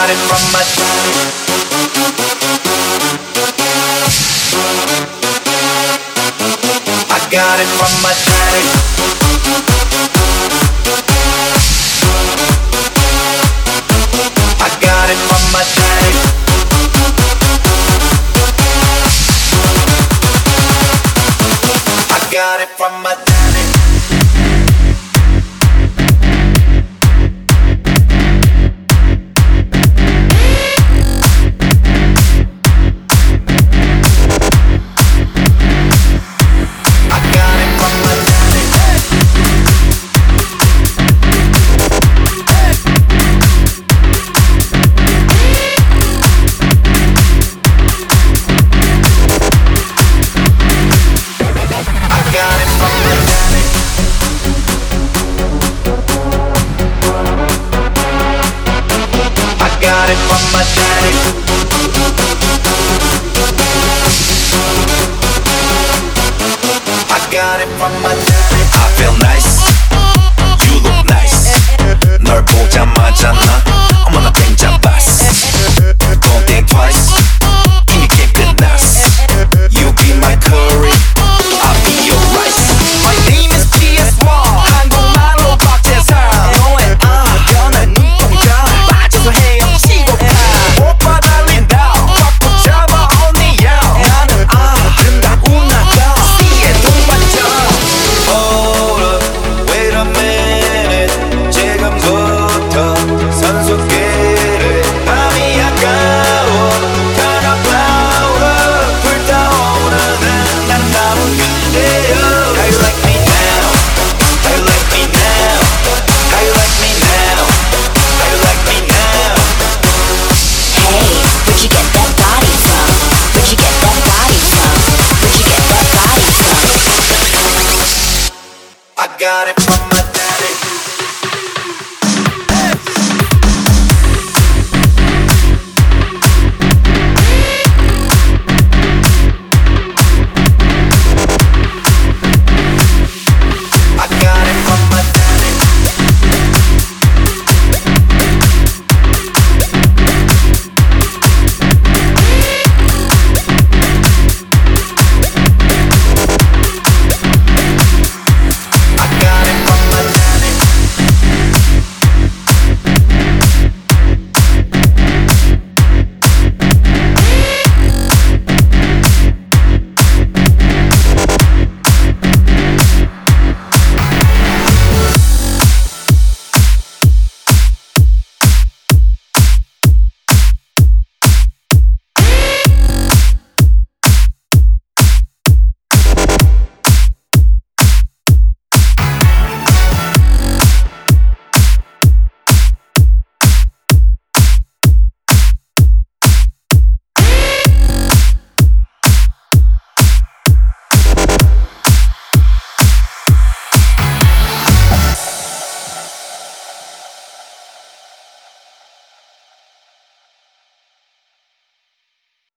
got it from my daddy. I got it from my daddy. I got it from my daddy. I got it from my daddy. Got it from my daddy. I got it from my daddy. I feel nice. You look nice. 널 보자마자 나 어머나 땡 잡았어. Don't think twice. 이미 게임 끝났어. You be my curry. I'll be your rice. My name is PS1. 한국말로 박재상. 너의 변한 눈동자 빠져서 헤엄치고 가. 오빠 달린다. 꽉 붙잡아 only you. 나는 아름다운 나다. 씨의 동반자. Hold up, wait a minute. 지금부터 선수끼리 밤이 아까워. Turn up louder. 불타오르는 아름다운 그대여. How you like me now? How you like me now? How you like me now? How you like me now? Hey, where'd you get that body from? Where'd you get that body from? Where'd you get that body from? I got it from my